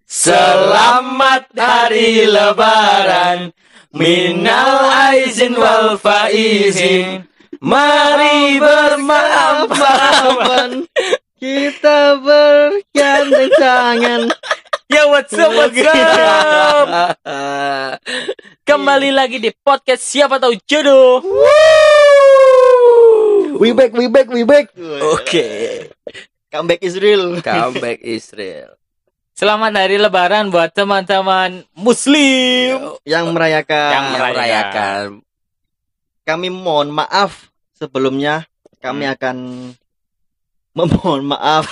Selamat Hari Lebaran, minal aizin wal faizin. Mari bermaaf-maafan, kita bergandeng tangan. Ya what's up? Kembali lagi di podcast Siapa Tahu Jodoh. We back. Oke. Comeback Israel. Comeback Israel. Selamat Hari Lebaran buat teman-teman Muslim yang merayakan. Kami mohon maaf sebelumnya. Kami akan memohon maaf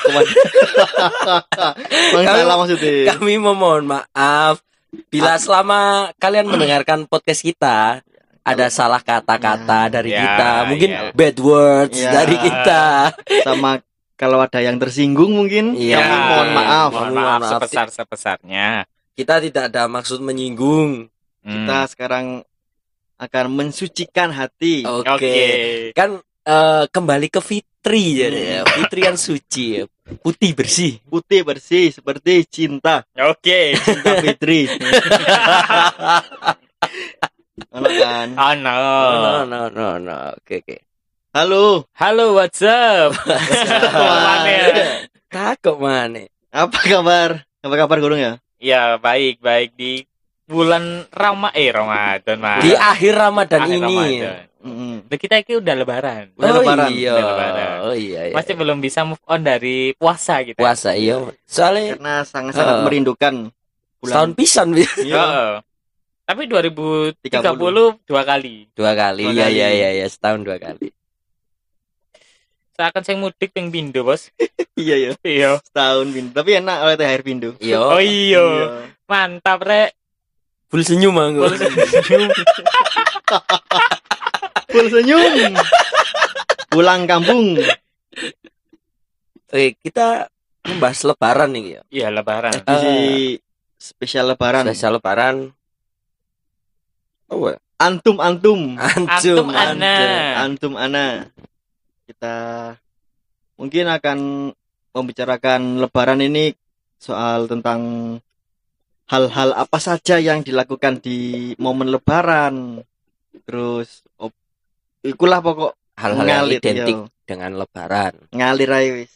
salah maksudnya. Kami memohon maaf bila selama kalian mendengarkan podcast kita ada salah kata-kata dari kita, mungkin bad words dari kita. Sama kalau ada yang tersinggung mungkin kami mohon maaf. Mohon maaf sebesar-besarnya. Kita tidak ada maksud menyinggung. Kita sekarang akan mensucikan hati. Oke. Kan kembali ke fitri ya. Fitri yang suci, putih bersih seperti cinta. Oke. Cinta fitri. Ono kan? No. Oke. Halo, what's up? Takut mana? Apa kabar? Apa kabar Gunung ya? Ya, baik di bulan Ramadan, Mas. Di akhir Ramadan ini. Kita ini udah lebaran. Oh iya. Masih belum bisa move on dari puasa kita. Puasa iya. Soalnya karena sangat merindukan setahun pisan. Iya. Tapi 2030 dua kali. Iya, setahun 2 kali. Seakan saya mudik yang Pindo, Bos. Iya. Setahun Pindo. Tapi enak oleh THR Pindo. Iya. Oh iya. Mantap, Rek. Full senyum aku. Full senyum. Pulang kampung. Oke, kita membahas lebaran nih ya. Iya, lebaran. Spesial lebaran. Oh, Antum ana. Kita mungkin akan membicarakan lebaran ini soal tentang hal-hal apa saja yang dilakukan di momen lebaran. Terus ikulah pokok hal-hal yang identik dengan lebaran. Ngalir aja wis.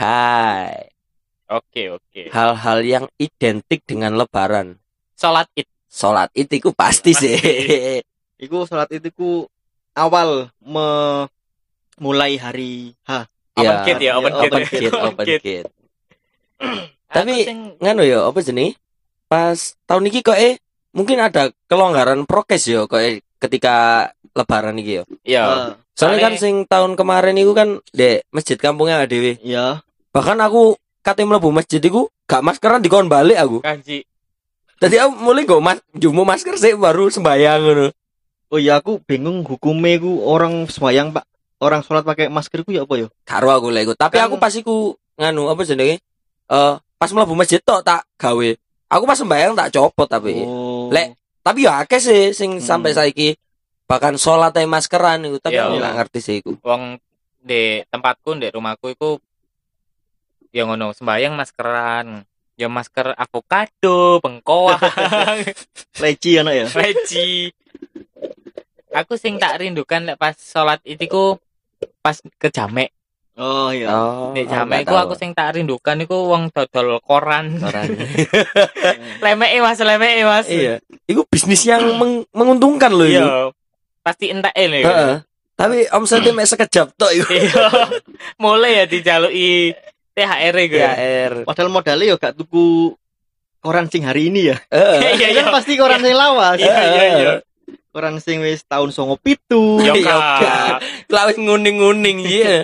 Oke. Hal-hal yang identik dengan lebaran. Salat Id iku pasti sih. Iku salat Id iku awal mulai hari Open kit. Tapi nganu ya apa jenis? Pas tahun ini kok mungkin ada kelonggaran prokes ya kok ketika lebaran iki ya. Iya. Soalnya kan sing tahun kemarin itu kan di masjid kampungnya dhewe. Iya. Bahkan aku kate mlebu masjid iku gak maskeran dikon balik aku. Kanji. Tadi aku mulai jumu masker sih baru sembayang ngono. Oh iya, aku bingung hukumnya ku orang sembayang Pak. Orang sholat pakai masker ku ya apa ya? Karo aku lek tapi aku pas iku nganu apa jenenge? Pas mlebu masjid tok tak gawe. Aku pas sembayang tak copot tapi. Lek tapi ya akeh sih sing sampai saiki bahkan sholat ae maskeran iku tapi aku gak ngerti sih iku. Wong di tempatku di rumahku iku ya ngono sembayang maskeran. Ya masker avocado, bengkoang. Leci anak ya? Leci. Aku sing tak rindukan lek pas sholat itiku pas ke jamek. Oh iya. Nek jamek iku aku sing tak rindukan iku wong dodol koran. Lemeke Mas. Iya. Iku bisnis yang menguntungkan loh itu. Iya. Pasti entek lho. Tapi omsetnya mek sekejap tok iku. Iya. Mulai ya dijaluki THR iku. Padahal modalnya yo gak tuku koran sing hari ini ya. Iya. Kan pasti koran sing lawas. Iya. Koran sing wis tahun 97. Yo Lawis nguning-nguning iya.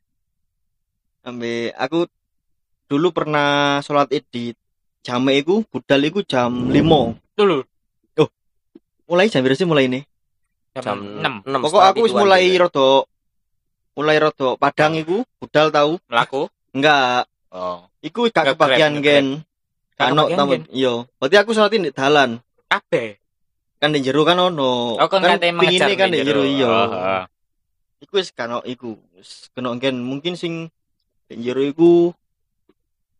Ambe aku dulu pernah sholat Id di jamek iku budal iku jam 5. Dulu. Oh. Mulai jam berapa sih mulai ini? Jam 6. Pokok aku wis mulai rada padang iku budal tahu. Mlaku? Enggak. Oh. Iku gak kebagian gen. Kano tamu. Iya. Berarti aku sholat di dalan. Kabeh. Kan di jero kan ono. Oh, kan pingine kan di jero iya. Iku wis kano iku. Kena gen mungkin sing di jero iku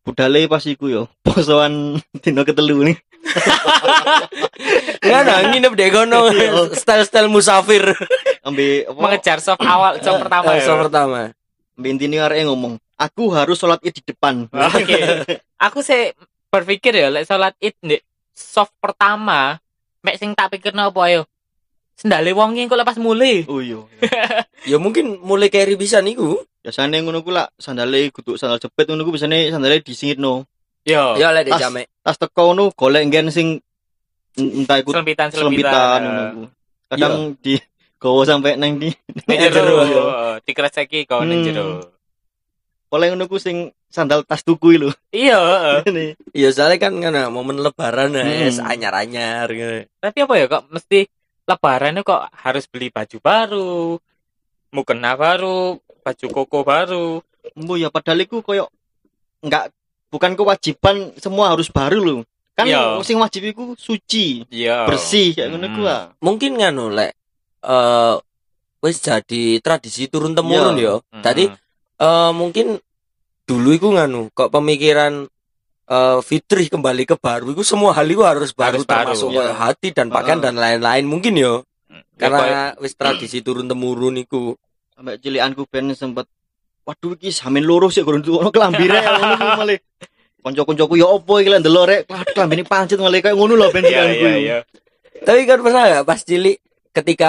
budale pas iku yo posoan dino ketelu nih. Enggak nah, nginep deh kono. Style-style musafir. Ambil apa? Mengejar soft awal, soft pertama ya. Soft pertama. Ambil intine arek ngomong, "Aku harus sholat Id di depan." Oke. Aku sih berpikir ya lek salat Id ndek soft pertama, mek sing tak pikirno apa ayo. Sendale wong engko lepas mulai. Oh iya. Ya mungkin mulai carry bisa niku. Biasane ngono ku lak sandale kudu sandal jepit ngono ku biasane sandale disingitno. Yo. Ya lek Tas- jamek. Tas teko ngono golek nggen sing entah iku Selempitan. ngono ku. Kadang di gowo sampai nang di Ning jero. jero. Dikreseki kau ning jero. oleh ngono ku sing sandal tas tuku lho. Iya, heeh. Ya soalnya kan ngana momen lebaran es Hmm. anyar-anyar gitu. Tapi apa ya kok mesti lebaran kok harus beli baju baru, mukena baru, baju koko baru. Embo ya padahal iku koyo enggak bukan kewajiban semua harus baru lho. Kan Iya. sing wajib iku suci, Iya. bersih kayak ngono ku. Ah. Mungkin nganu lek wis jadi tradisi turun temurun Iya. ya. Tadi mungkin dulu iku nganu kok pemikiran fitrih kembali ke baru iku semua hal itu harus baru Harus baru, termasuk ya. kayak hati dan pakaian dan lain-lain mungkin ya. Karena wis tradisi turun temurun iku. Sampai cilikanku ben sempet waduh iki samin loro sik gurung ono klambire ngono ku malah. Kanca-kancaku ya opo iki lek ndelok rek klambine pancet malah kayak ngono lho ben cilikanku. Iya. Tapi kan pernah gak pas cilik ketika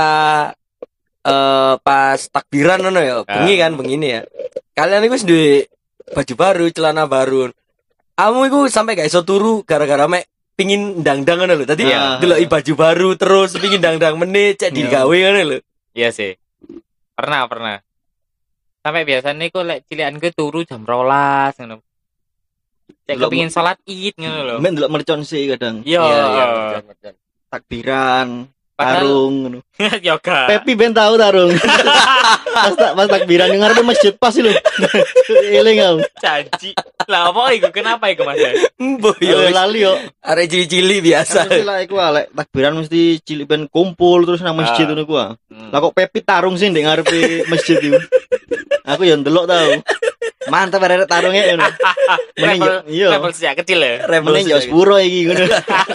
pas takbiran ngono ya, bengi kan begini ya. Kalian iku wis duwe baju baru, celana baru. Kamu iku sampai gak iso turu gara-gara mek pingin ndang-ndang ngono lho. Tadi Iya. deloki baju baru terus pingin ndang-ndang meneh cek Iya. digawe ngono lho. Iya sih. Pernah. Sampai biasanya iku lek cilikanku turu jam 12 ngono. Cek Delok- kepengin salat Id ngono lho. Men ndelok mercon sih kadang. Iya. betul. Takbiran, Padahal- tarung ngono. Yoga. Pepi ben tahu tarung. pas takbiran yang ngarepe masjid pas lho. Eling aku. Janji. Lah apa iku? Kenapa iku Mas? Mbah Yo yo lali yo. arek cili-cili biasa. Mesti lah iku lek takbiran mesti cilik ben kumpul terus nang masjid ngono ku. Lah kok Pepi tarung sih ndek ngarepe masjid iku. Aku yo ndelok tau. Mantap arek tarunge ngono. Mending yo iya. Level sejak kecil ya. Mending yo sepuro iki ngono.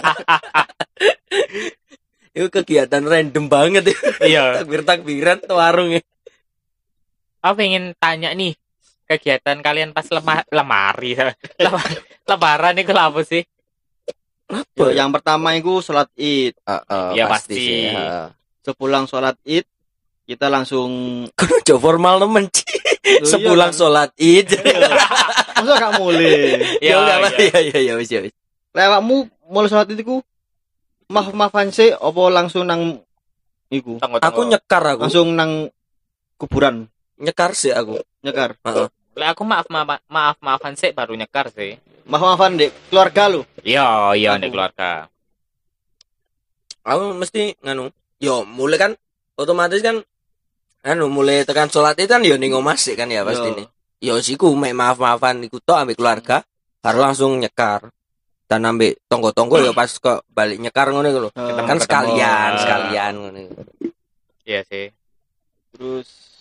Itu kegiatan random banget ya. Iya. Takbir-takbiran tuh warung ya. Aku pengen tanya nih, kegiatan kalian pas lemari. Lebaran itu apa sih? Yo, yang pertama iku salat Id. Ya, pasti. sih, heeh. Sepulang salat Id kita langsung Kudu aja formal nemen Ci. Sepulang kan? sholat Id. masa gak mulai. Ya enggak apa iya. ya wis ya wis. Lewatmu mulai salat Id iku maaf-maafan sih apa langsung nang iku? Tunggu. Aku nyekar aku. Langsung nang kuburan Nyekar sih aku. nyekar. Lah aku maafan sih baru nyekar sih. Maaf-maafan dek keluarga lu. Iya, Aku. nek keluarga. Aku mesti nganu. Yo mulai kan otomatis kan mulai tekan sholat itu kan yo ning omah sih kan ya pasti Yo. nih. Yo siku mek maaf-maafan iku tok ambek keluarga baru langsung nyekar. Dan ambek tonggo-tonggo yo pas kok balik nyekar ngono iku lho. Ketemu. Kan Ah. sekalian ngono iku. Iya sih. Terus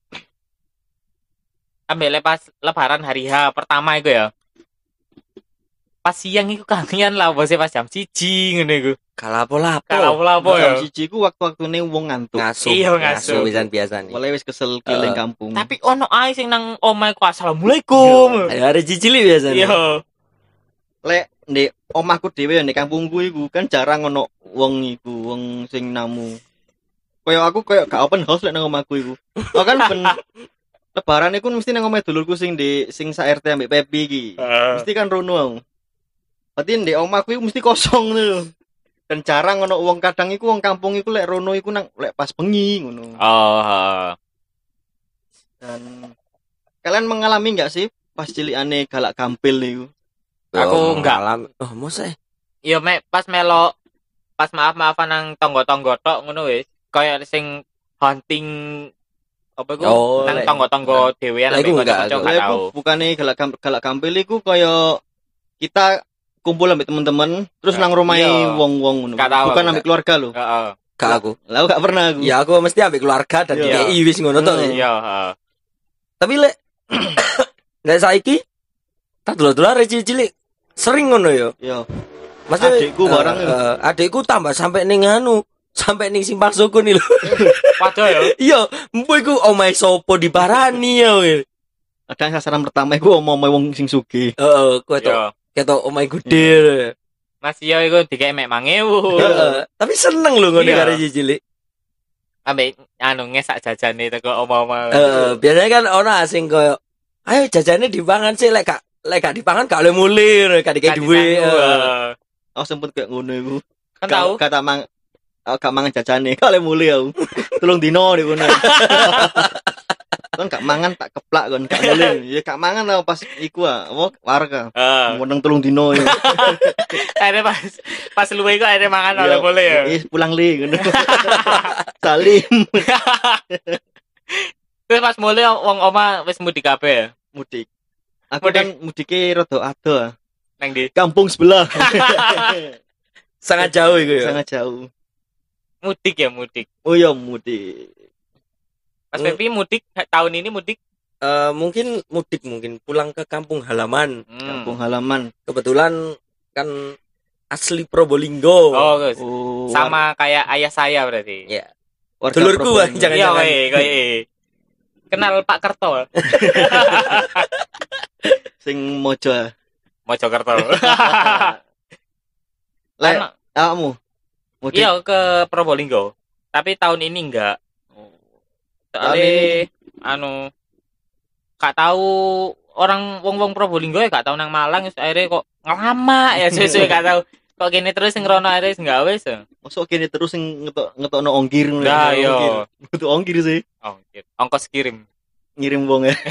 Ambil pas lebaran hari H pertama itu ya. Pas siang itu kangen lah bosnya pas jam 1 ngono iku. Kalapo-lapo. Kalau ya. jam siji ku waktu-waktune wong ngantuk. Ngasuh. Iya, ngasuh. Pisan biasa nih. Mulai wis kesel keliling kampung. Tapi ono ae sing nang omahe ku assalamualaikum. Ada cicili biasa nih. Iya. Lek ndek omahku dhewe ndek kampungku iku kan jarang ono wong iku, wong sing namu. Kayak aku kayak gak open house lek nang omahku iku. Oh kan ben lebaran iku mesti nang omahe dulurku sing di sing sa RT ambek Pepi iki. Mesti kan rono aku. Berarti ndek omahku iku mesti kosong lho. Dan jarang ono wong kadang iku wong kampung iku lek rono iku nang lek pas bengi ngono. Oh. Dan kalian mengalami enggak sih pas cilikane galak gampil niku? Aku enggak. Oh, masa Iya mek pas melok pas maaf-maafan nang tonggo-tonggo tok ngono wis. Kayak sing hunting apa iku Oh, nang lek- tonggo-tonggo dhewean lek iku ambek enggak, kanca-kanca aku. gak Lah tau. iku bukane galak gampil iku kaya kita kumpul ambek teman-teman terus nang romahe Iya. wong-wong ngono. Gak tahu Bukan aku, ambek keluarga lho. Heeh. Gak aku. Lah aku gak pernah aku. Ya aku mesti ambek keluarga dan Iya. DI wis ngono tok. Hmm. ya. Iya, heeh. Tapi lek lek saiki Tak dulu-dulu arek cilik sering ngono yo. Yo. Maksudnya Adikku barang adikku tambah sampai ning sampai ning simpang suku nih lho. Padha ya. Iya, mbok iku omahe sapa diparani ya. Kadang sasaran pertama iku omong wong sing sugih. Heeh, kowe Yo. ketok omahe gede. Mas yo iku dikek mek 5.000. Heeh, tapi seneng lho ngono Iya. karo cilik. Ambek ngesak jajane teko oma-oma. Biasanya kan orang asing koyo ayo jajane dipangan sih lek gak dipangan gak oleh mulir, gak dikei duwe. Aku sempet kayak ngono iku. Kan tahu. Kata gak mangan jajane, kale muli aku. Tulung dino di kono. Kan gak mangan tak keplak kon, gak muli. Ya gak mangan lah pas iku apa warga. Meneng tulung dino ya. Akhirnya pas luwe iku akhirnya mangan oleh boleh ya. Pulang li ngono. Salim Terus pas mulai wong oma wis mudik kabeh ya. mudik. Aku kan mudike rada ado. Nang ndi? Kampung sebelah. Sangat jauh iku ya. Sangat jauh. Mudik ya mudik. Oh ya mudik. Mas Pepi mudik tahun ini mudik. Mungkin pulang ke kampung halaman. Kampung halaman. Kebetulan kan asli Probolinggo. Oh, guys. Oh, Sama kayak ayah saya berarti. Ya. warga Dulurku Probolinggo. jangan-jangan. Iya, kayak. Kenal Pak Kerto. Sing mojo. Mojokerto. Lek Kan- kamu mudik. Iya ke Probolinggo. Tapi tahun ini enggak. Tahun Soalnya gak tahu orang wong Probolinggo ya gak tahu nang Malang wis akhirnya kok ngelama ya sesuai gak tahu. Kok gini terus sing rono akhirnya enggak wis. Masuk kene terus sing ngetokno ongkir ngono. Nah, Ongkir. yo. Butuh ongkir sih. Oh, gitu. Ongkos kirim. Ngirim wong ya.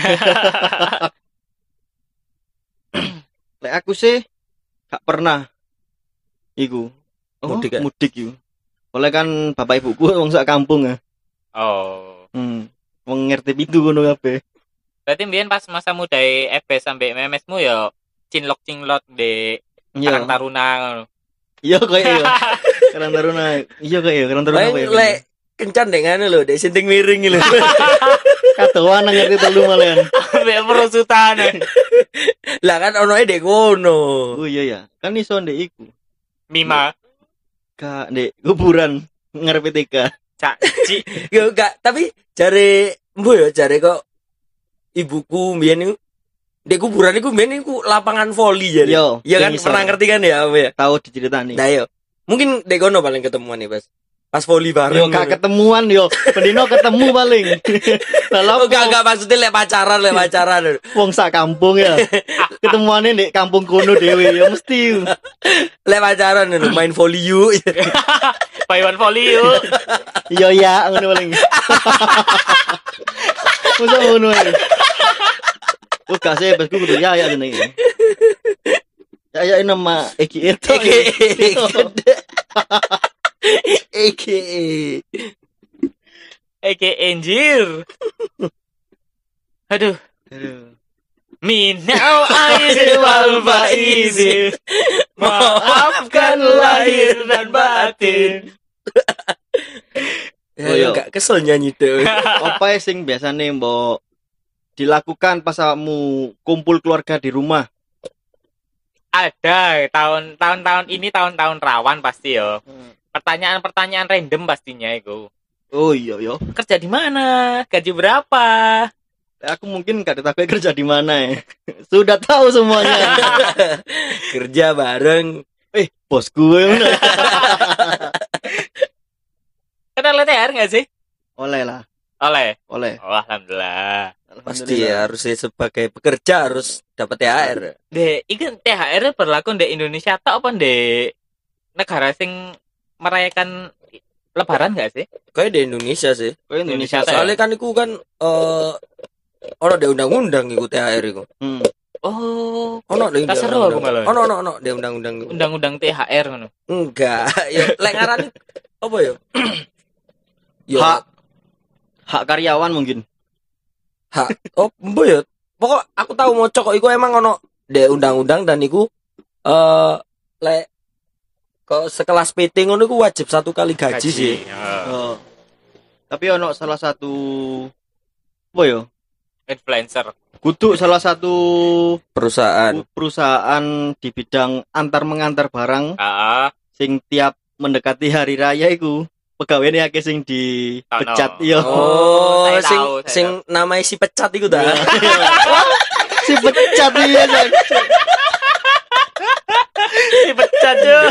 Lek aku sih gak pernah iku. Mudik, ya? Mudik iku. Oleh kan bapak ibuku wong sak kampung ya. Oh. Wong ngerti pintu ngono kabeh. Berarti mbiyen pas masa muda FB sampai memesmu ya cinlok-cinlok di Karang Iya. Taruna ngono. Iya kayak iya. Karang Taruna. Iya kayak iya, Karang Taruna. Lek kencan dengan lho, dek sinting miring lho. Katoan ngerti telu malian. Ambek perusutan. Lah kan onoe dek kono. Oh iya ya. Kan iso ndek iku. Mima, Ka ndek kuburan ngarepe TK. Cak Ci. Yo gak, tapi jare kok ibuku mbiyen niku dek kuburan iku mbiyen iku lapangan voli jare. Yo, Iya kan sing pernah isor. ngerti kan ya apa ya? Tahu diceritani. Nah yo. Mungkin dek kono paling ketemuan nih, Pas voli Yo bareng. gak ketemuan yo. Pendino ketemu paling. Lah Oh, gak maksudnya lek pacaran. wong sak kampung ya. Ketemuane ndek kampung kono dhewe ya mesti. Lek pacaran lho, main voli yuk. Paiwan Voli yuk. Iya ya ngono paling. Masa ngono ae. Oh gak sih besku kudu ya jenenge. Ya nama Eki itu. Eke Anjir. Aduh. Minau aizin wal faizin. Maafkan lahir dan batin. Oh, iya. Gak kesel nyanyi tuh. Apa sing biasane mbok dilakukan pas kamu kumpul keluarga di rumah? Ada tahun-tahun ini tahun-tahun rawan pasti yo. Pertanyaan-pertanyaan random pastinya itu. Oh iya yo. Kerja di mana? Gaji berapa? Aku mungkin gak ditakai kerja di mana ya. Sudah tahu semuanya. Kerja bareng. Bos gue. Kenal THR nggak sih? Oleh lah. Oleh. Oleh. Oh, alhamdulillah. Pasti ya harusnya sebagai pekerja harus dapat THR. Iki THR berlaku di Indonesia atau apa di negara sing merayakan Lebaran nggak sih? Kayak di Indonesia sih. Kau Indonesia. Soalnya kan iku kan ono de undang-undang iku THR iku. Oh, Ono de tak seru aku malah. Ono de undang-undang iku. Undang-undang THR ngono. Enggak, ya lek ngarani apa ya? Yo, Hak karyawan mungkin. oh, mbo ya. Pokok aku tahu moco kok iku emang ono de undang-undang dan iku lek kok sekelas PT ngono iku wajib 1 kali gaji sih. Tapi ono salah satu apa ya? Influencer. kudu salah satu perusahaan di bidang antar mengantar barang Heeh. sing tiap mendekati hari raya iku pegawainya akeh sing dipecat iya. Oh, Saya sing tahu, saya sing namanya si pecat iku ta. Si pecat iya Jan. Si pecat yo.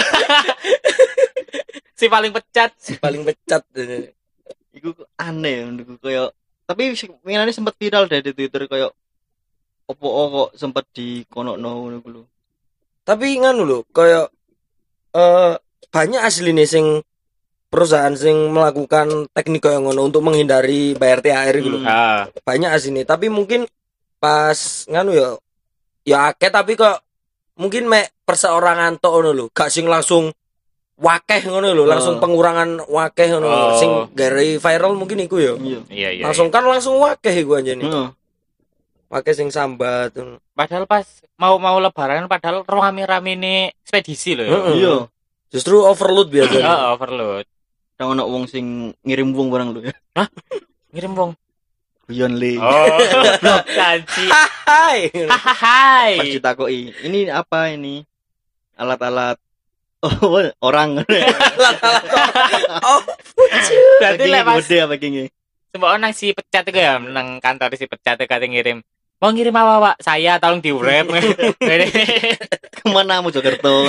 Si paling pecat. Paling pecat. Iku aneh menurutku kayak tapi ini sempat viral deh di Twitter kayak opo kok sempat dikonokno ngono ku lho. Tapi nganu lho, kayak banyak asline sing perusahaan sing melakukan teknik kayak ngono untuk menghindari bayar THR gitu lho. Ah. Banyak asline, tapi mungkin pas nganu ya akeh tapi kok mungkin mek perseorangan tok ngono lho, gak sing langsung wakeh ngono lho, langsung pengurangan wakeh ngono lho. Oh. Sing gara viral mungkin iku ya. Iya. Iya. Langsung kan langsung wakeh iku anjene. Heeh. Wakeh sing sambat. Padahal pas mau lebaran padahal rame-rame ini ekspedisi loh. Heeh. Iya. Justru overload biasanya. Heeh, overload. Ada ono wong sing ngirim wong barang lho ya. Ngirim wong. Guyon le. Oh, janji. Hai. Hai. Pas ditakoki, ini apa ini? Alat-alat orang. Oh, Berarti lek pas gede apa gini? semua orang si pecat itu ya nang kantor si pecat itu kate ngirim. Mau ngirim apa, Pak? Saya tolong di-wrap. Kemana Mojokerto?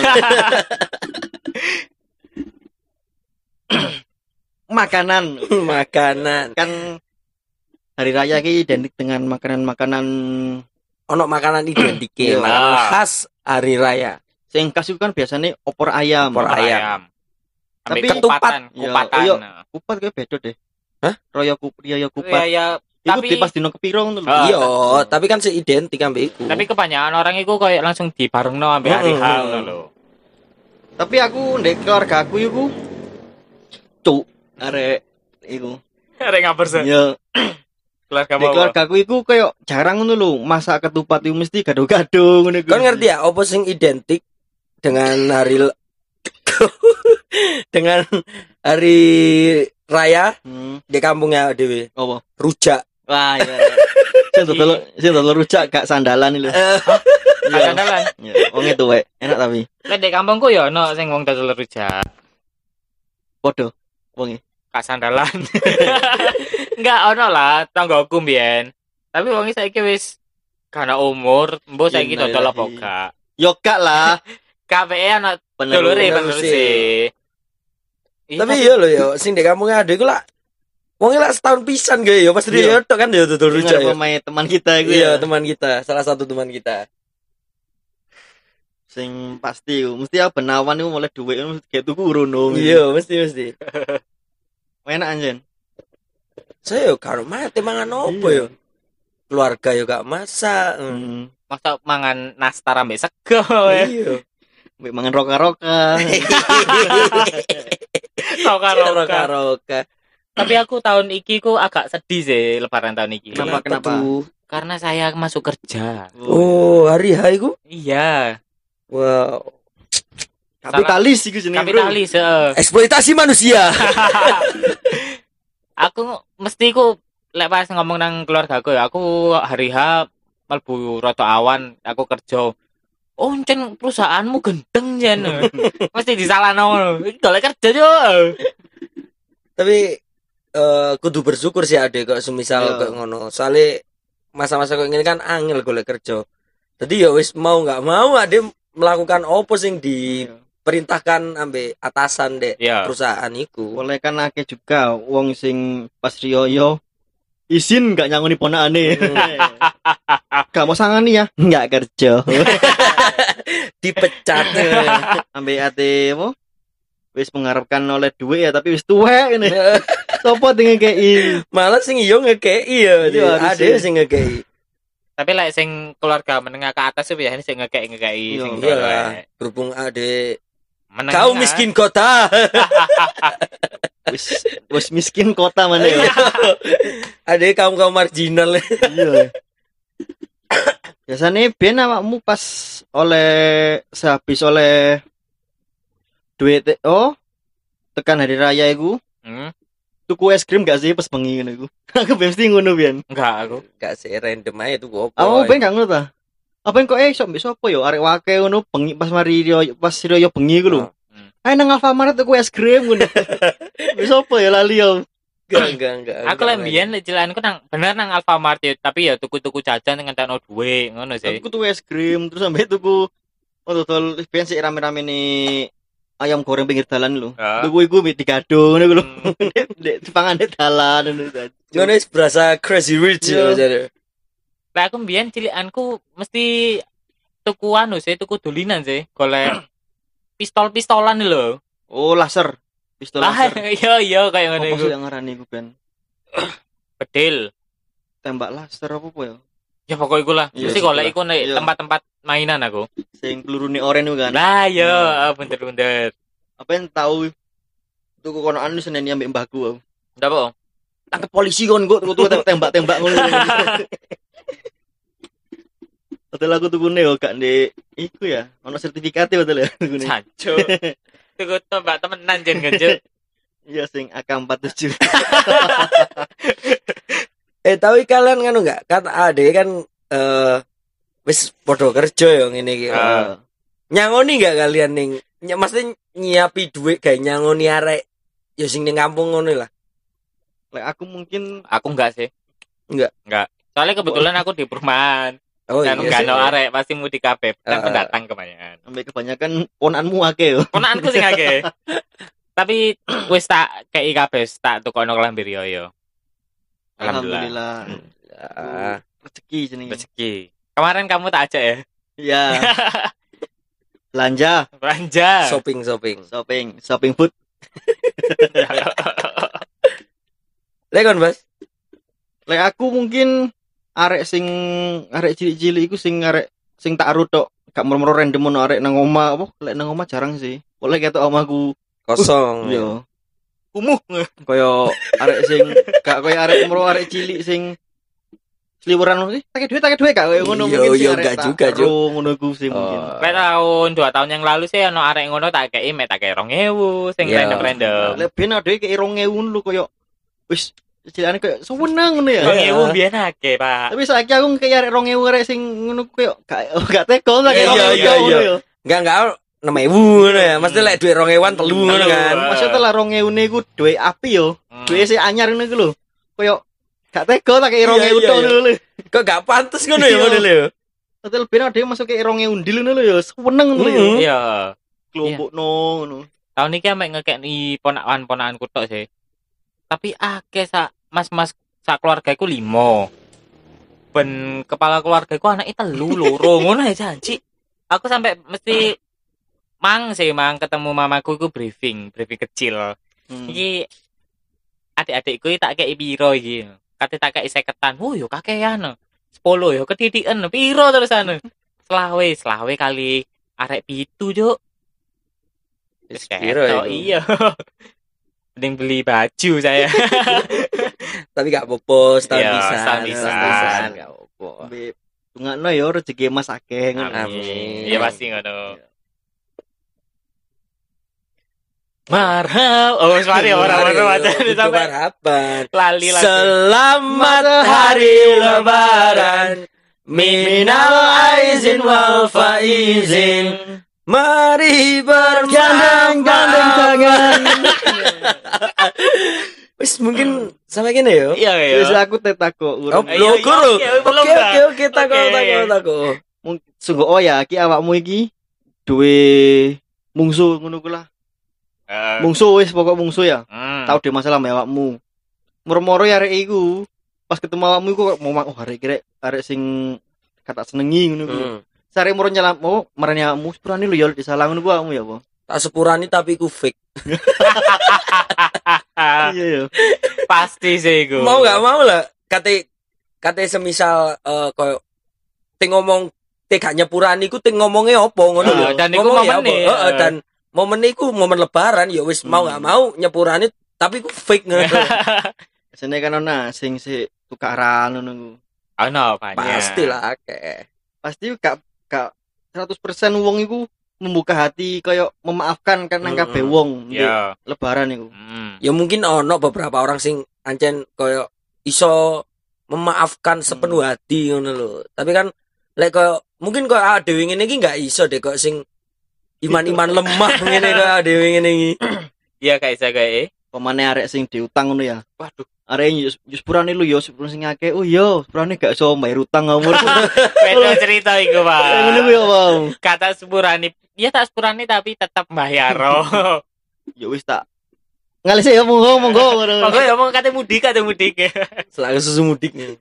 Makanan kan hari raya ki identik dengan makanan-makanan ono makanan identik Iya. makanan khas hari raya. sing khas itu kan biasanya opor ayam. Opor ayam. Tapi Tapi kupatan, iya, kupatan. iya. Kupat kayak beda deh. Hah? Royo kupat. Ya, Iku tapi di pas dino kepiro ngono lho. Ah, Iya, tapi kan seidentik ambek iku. tapi kebanyakan orang itu kayak langsung dibarengno ambek hari H ngono lho. Tapi aku ndek keluarga aku iku cuk arek iku. Arek ngabar sih. Ya, Keluarga ndek mau. keluarga aku iku kayak jarang ngono lho, masak ketupat iku mesti gado-gado ngono iku. Kan ngerti ya opo sing identik dengan dengan hari raya di kampungnya dhewe. Apa? Rujak. Wah, iya. Sing dodol rujak gak sandalan lho. Ada andalan. Ya, wong itu wae, enak tapi. Lek di kampungku ya ono sing wong dodol rujak, Podo wonge. gak sandalan. Enggak ono lah tanggoku mbiyen. Tapi wong iki saiki wis kana umur, mbok saiki dodol apa gak. Yo gak lah. KPE ana dulure Penerus. sih. Tapi iya lho ya, sing di kampungnya ada iku lah wong lah setahun pisan gawe ya pas dia tok kan ya dodol rujak ya. Pemain teman kita iku Iya, ya. teman kita, salah satu teman kita. Sing pasti mesti benawan iku mulai dhuwit kayak tuku rono. Iya, mesti. Enak anjen. Saya yo karo mate mangan opo yo. Keluarga yo gak masak. masa mangan nastar ambek sego. Iya. Mbek mangan roka-roka. Roka-roka. Tapi aku tahun iki ku agak sedih sih lebaran tahun iki. Kenapa? tuh? Karena saya masuk kerja. Oh, hari H iku? Iya, Wow. Kapitalis iku jenenge. kapitalis. Eksploitasi manusia. Aku mesti ku lek pas ngomong nang keluargaku ya, aku hari H mlebu rada awan, aku kerja. Oh, encen perusahaanmu gendeng jen. Mesti disalahno. Iki golek kerja yo. Tapi kudu bersyukur sih adek kok semisal Iya. kok ngono. Soale masa-masa kok ngene kan angel golek kerja. Jadi ya wis mau nggak mau adek melakukan opo sing diperintahkan ambek atasan dek Iya. perusahaan iku. Oleh kan akeh juga wong sing pas riyo izin gak nyangoni ponakane. Gak mau sangani ya? Enggak kerja. Dipecat. Ambek ate apa? Wis mengharapkan oleh duit ya tapi wis tuwek ngene. Sopo dengan KI? Malah sing iyo ngekei ya. Iya, Ada harusnya. sing ngekei. Tapi lek sing keluarga menengah ke atas itu biasanya sing ngekei Iya, sing Iya golek. lah. Berhubung ade Menengah. kau miskin kota. Wis miskin kota mana ya? Ade kaum marginal. Iya. Biasanya ben awakmu pas sehabis oleh duit tekan hari raya iku Hmm. tuku es krim gak sih pas bengi ngono iku. Aku mesti ngono pian. Enggak aku. Gak sih random aja tuh opo. Aku ben gak ngono ta. Apa kok iso mbek sapa yo arek wake ngono bengi pas mari pas yo bengi iku lho. Ayo nang Alfamart tuku es krim ngono. Mbek sapa ya lali yo. Enggak. Aku lek mbiyen lek cilanku nang bener nang Alfamart ya, tapi ya tuku-tuku jajan ngentekno duwe ngono sih. Aku tuku es krim terus sampe tuku dodol ben sik rame-rame nih ayam goreng pinggir dalan lho. Tuku iku mbek digado ngono lho. Nek dipangan di dalan ngono. Ngono wis berasa crazy rich ya jare. Lah aku mbiyen cilikanku mesti tuku anu sih, tuku dolinan sih, golek pistol-pistolan lho. Oh, laser. Pistol Lah laser. iya kayak ngono Apa iku. sih yang ngarani iku ben? Bedil. Tembak laser apa ya? Ya pokok iku lah. Iya, Mesti golek iku nek iya. tempat-tempat mainan aku. Sing pelurune oren iku kan. Lah iya, bener-bener. Apa yang tahu tuku kono anu Senin ambek mbahku aku. Ndak apa? Tangkep polisi kon kok tuku tembak-tembak ngono. Betul aku tukune yo gak ndek iku ya, ono sertifikate betul ya tukune. Sanjo. Tuku tembak temenan jen genjuk. Iya sing AK47. Tapi kalian kan enggak? Kan ade kan wis padha kerja ya ngene iki. Nyangoni enggak kalian ning mesti nyiapi duit gawe nyangoni arek ya sing ning kampung ngono lah. Lek aku mungkin Aku enggak sih. Enggak. Soalnya kebetulan aku di perumahan. Oh Dan iya. enggak sih. ono arek pasti mudik kabeh. Kan pendatang kebanyakan. ambek kebanyakan ponanmu akeh yo. Ponakanku sing akeh. Tapi wis tak kei kabeh tak tukono kelambi riyo yo. Alhamdulillah. Ah, Rezeki jenenge. Rezeki. Kemarin kamu tak ajak ya? Iya. Belanja, Belanja. shopping food. Lekon, Mas. Lek aku mungkin arek cilik-cilik iku sing tak arut tok. Gak moro-moro random ono arek nang omah apa? Lek nang omah jarang sih. Oleh ketok omahku Kosong. iya. Kumuh kaya arek sing gak kaya arek moro arek cilik sing seliweran ngono sih. Tak duit gak kaya ngono Iya, mungkin sih iya, arek gak tak juga, Cuk. karo ngono ku sih mungkin. Lek tahun 2 tahun yang lalu sih ono arek ngono tak kei mek tak kei 2.000 sing Iya. random-random. Lek ben ade kaya 2.000 lho kaya wis cilikane kaya seneng ngono ya. 2.000 biyen akeh, Pak. Tapi saiki aku kaya arek 2.000 arek sing ngono kaya gak teko tak kaya Iya, 2.000 iya. ngono ya. Enggak 6.000 ngono ya. Mesti lek duit 2.000 telu ngono kan. Maksudnya lah 2.000 iku duit api yo. Duit sing anyar ngono iku lho. Kaya gak teko tak kaya 2.000 Iya, iya, tok iya. ngono lho. Kok gak pantes ngono ya Iya. model ya. Hotel ben ade masuk kaya 2.000 ndil ngono lho ya. Seneng ngono ya. Iya. Kelompokno ngono. Tahun iki mek ngekekni ponakan-ponakanku tok sih. Tapi akeh mas-mas sak keluargaku 5. Ben kepala keluargaku anake 3 loro ngono ya janji. Aku sampai mesti mang ketemu mamaku iku briefing kecil. Iki adik-adikku tak kei piro iki. Kate tak kei 50-an. Oh yo kakean. 10 yo ketitiken piro terusan. Selawe kali arek 7, Juk. Wis piro Ketok, iku? iya. Mending beli baju saya. Tapi gak apa-apa, setahun Iya, bisa. setahun bisa. Gak apa-apa. Ambek tungakno ya rezeki Mas akeh ngono. Amin. Iya pasti ngono. Marhab. Oh, sorry orang-orang macam Itu sampai harapan. lali. Selamat hari lebaran. Minal aizin wal faizin. Mari bergandeng-gandeng tangan. Wis mungkin sampai gini ya. Iya ya. Wis aku tetako Oh, urung. Iya, lo guru. iya, belum Oke, dah. oke, tako. Sungguh ya iki awakmu iki duwe mungsu ngono ku lah. Mungsu wis pokok mungsu ya. Tahu deh masalah mbak awakmu. Moro-moro ya arek iku. Pas ketemu awakmu iku kok mau arek arek sing kata senengi ngono ku. Sare moro nyelam marani awakmu sepurane lho ya disalah ngono ku awakmu ya apa? Tak sepurani tapi ku fake. Iya ya. Pasti sih iku. Mau gak mau lah. Kate semisal koyo te ngomong te gak nyepurani ku te ngomongnya opo ngono lho. Dan iku Ngomongnya momen apa? Heeh, dan momen iku momen lebaran ya wis mau gak mau nyepurani tapi ku fake ngono. Sene kan ana sing tukaran ngono ku. Ono banyak. Pastilah akeh. Pasti gak 100% wong iku membuka hati kayak memaafkan kan nang kabeh wong ndek Iya. lebaran iku. Ya mungkin ono beberapa orang sing ancen koyo iso memaafkan sepenuh hati ngono lho. Tapi kan lek koyo mungkin koyo dhewe ngene iki gak iso deh kok sing iman-iman lemah ngene koyo dhewe ngene iki. Iya gak iso kae. Pemane arek sing diutang ngono ya. Waduh, Arek yo sepurane lu yo sepurane sing akeh. Oh yo, sepurane gak iso bayar utang umur. beda cerita iku, Pak. Ngono ku yo, Bang. Kata sepurane, ya tak sepurane tapi tetap bayar. Ya wis tak. Ngalis ya monggo. Monggo ya mau kate mudik. Selalu susu mudiknya.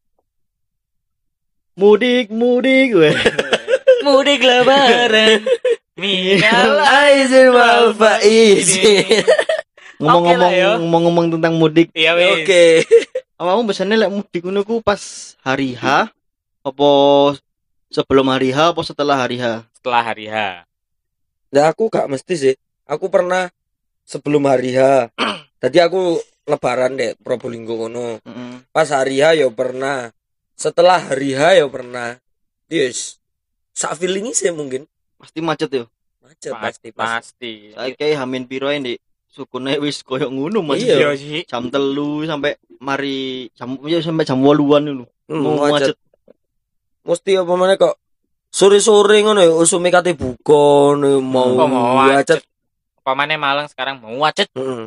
Mudik we. Mudik lebaran. Minal Aizin wal faizin. Ngomong-ngomong tentang mudik. Iya wis. Oke. Awakmu biasane lek mudik ngono ku pas hari H apa sebelum hari H apa setelah hari H? Setelah hari H. Ya aku gak mesti sih. Aku pernah sebelum hari H. Tadi aku lebaran deh Probolinggo ngono. Pas hari H ya pernah. Setelah hari H ya pernah. Yes. Sak feeling sih mungkin. Pasti macet yo. Macet Pasti. Saiki hamin piro ndek sukune wis koyo ngono Mas. Iya. sih. Jam 3 sampai mari sampai jam 8-an lho. Macet. Mesti apa meneh kok sore-sore ngono ya usume kate buka mau macet. Pamane Malang sekarang mau macet.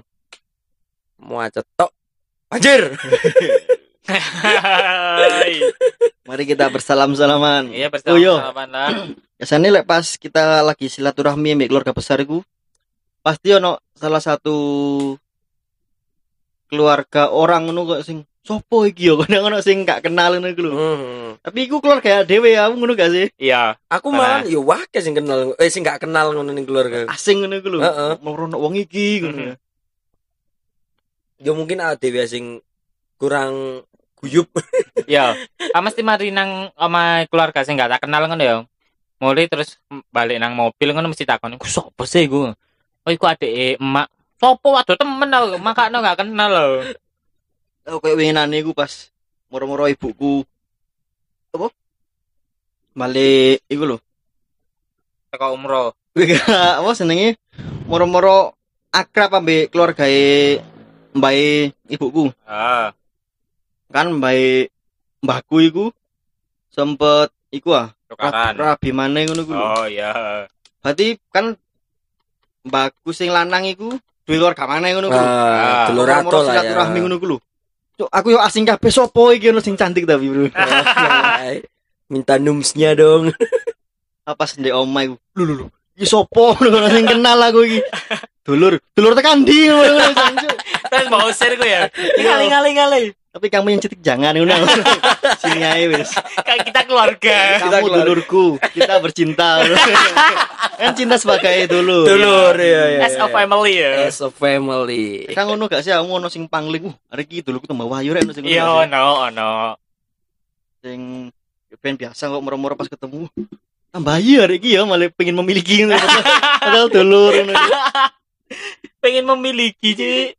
Macet tok. Anjir. Mari kita bersalam-salaman. Iya Oh, yo. bersama-sama lah. Biasanya lek pas kita lagi silaturahmi ambek keluarga besar iku pasti ono salah satu keluarga orang ngono kok sing sopo iki yo kadang ono sing gak kenal ngono iku lho. Tapi iku keluarga dhewe ya ngono gak sih? Iya. Aku malah yo wake sing kenal sing gak kenal ngono ning keluarga. Asing ngono iku lho. Heeh. Merono wong iki ngono. Yo mungkin ada dhewe sing kurang guyup. Iya. Mesti mari nang oma keluarga sing gak tak kenal ngono ya. Mulai terus balik nang mobil ngono mesti takon, "Ku sopo sih iku?" "Oh, iku adeke emak." "Sopo? Waduh temen aku, makane gak kenal lho." Aku kayak winginane iku pas moro-moro ibuku apa? Balik iku lho. Teko umroh. Apa senenge? Moro-moro akrab ambek keluargae mbae ibuku. Kan mbahku iku sempet iku Tukaran. rabi maneh ngono ku lho. Oh iya. Berarti kan mbahku sing lanang iku duwe keluarga maneh ngono ku lho. Telur ato Moro-moro lah ya. silaturahmi ngono ku lho. Cuk, aku yo asing kabeh sopo iki ono sing cantik tapi, Bro. Minta numsnya dong. Apa sendek omah iku. Lho. Iki sopo ngono sing kenal aku iki. Dulur tekan ndi ngono. Terus mau share ku ya. Ngali. Tapi kamu yang cetik jangan ngono. Sini ae wis. Kayak kita keluarga. Kamu dulurku, kita bercinta. Kan cinta sebagai dulur. Dulur ya. As a family ya. As a family. Kan ngono gak sih kamu ono sing pangling. Hari iki dulurku tambah wahyu rek ono sing. Iya ono. Sing ben biasa kok moro-moro pas ketemu. Tambah wahyu hari iki ya malah pengen memiliki ngono. Padahal dulur ngono. Pengen memiliki sih.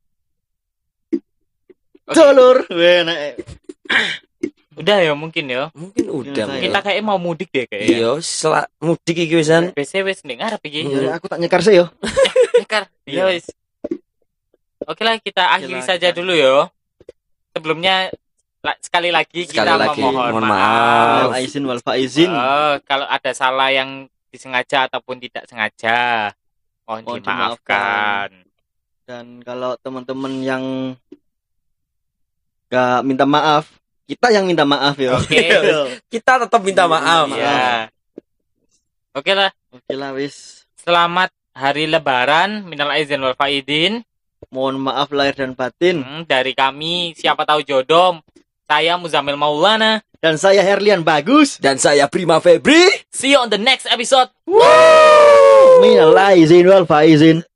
Dulur. Weh nek Udah ya mungkin ya. Mungkin udah. Kita Kita kayak mau mudik deh kayaknya. Iya, mudik iki wisan. BC wis ning ngarep iki. ya, aku tak nyekar sih yo. Nekar. Iya wis. Oke lah kita akhiri saja dulu ya. Sebelumnya sekali lagi kita mohon memohon maaf. maaf. Aizin wal faizin. Kalau ada salah yang disengaja ataupun tidak sengaja, mohon dimaafkan. Dan kalau teman-teman yang gak minta maaf, kita yang minta maaf ya. Oke. Kita tetap minta maaf. Iya. Oke lah. Oke lah wis. Selamat hari Lebaran, minal aizin wal faizin. Mohon maaf lahir dan batin. Dari kami siapa tahu jodoh. Saya Muzamil Maulana Dan saya Herlian Bagus. Dan saya Prima Febri. See you on the next episode. Minal aizin wal faizin.